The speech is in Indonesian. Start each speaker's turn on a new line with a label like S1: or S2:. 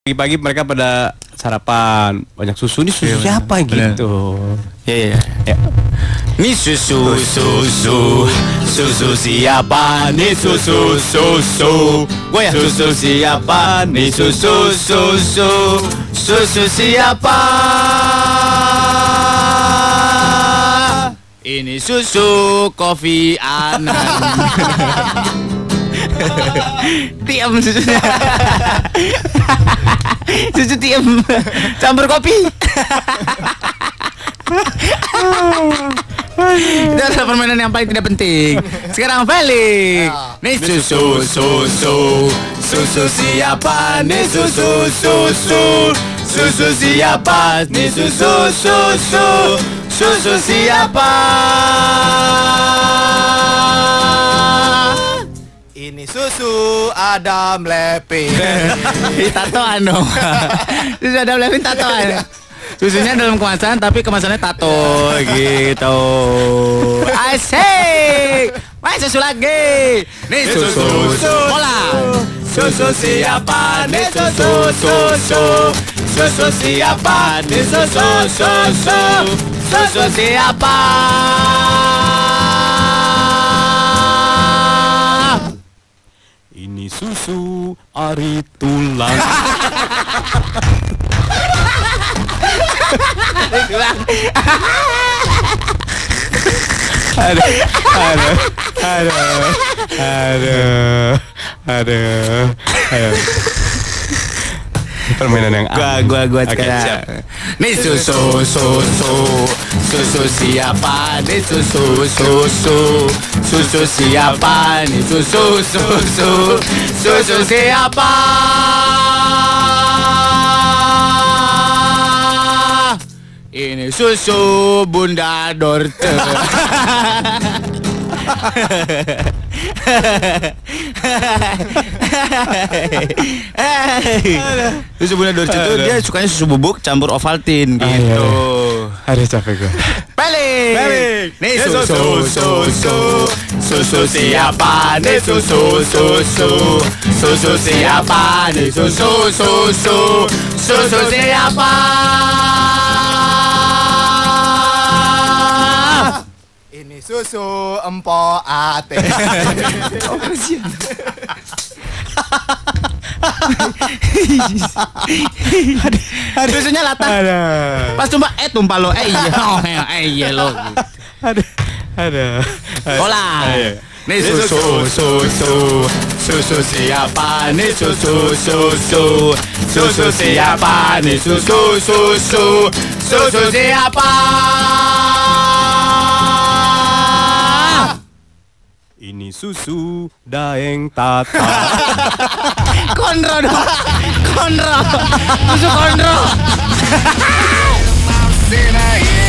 S1: Pagi-pagi mereka pada sarapan banyak susu. Ini susu siapa gitu?
S2: Ya. Ini susu siapa? Nih susu. Gue ya susu siapa? Nih susu siapa? Ini susu Kofi Annan. Tiam susunya. Susu tiam campur kopi. Itu adalah permainan yang paling tidak penting. Sekarang balik. Nih susu siapa? Nih susu siapa? Nih susu siapa?
S3: Ini susu Adam Levine.
S2: Tato anu. Susu Adam Levine tatoan. Susunya dalam kemasan tapi kemasannya tato gitu. Asik. Wah, susu lagi. Nih susu. Bola. Susu siapa? Nih susu. Susu siapa? Nih susu. Susu siapa?
S1: Ini susu Ari Tulang. Aduh. Permainan yang
S2: Gua sekarang. Nih susu siapa? Nih susu siapa? Nih susu siapa? Ini susu Bunda Dorce. Susu Bunda Dorce itu dia sukanya susu bubuk campur Ovaltine gitu.
S1: Aduh capek gue.
S2: Balik. Nih susu siapa? Nih susu siapa? Nih susu siapa?
S3: Ini susu Empo Ate.
S2: Susunya latah. Pas tumpah lo. Iya lo.
S1: Ada.
S2: Bola. Nih susu siapa? Nih susu siapa? Nih susu siapa?
S1: Ini susu Daeng Tata.
S2: Konro dong. Susu konro.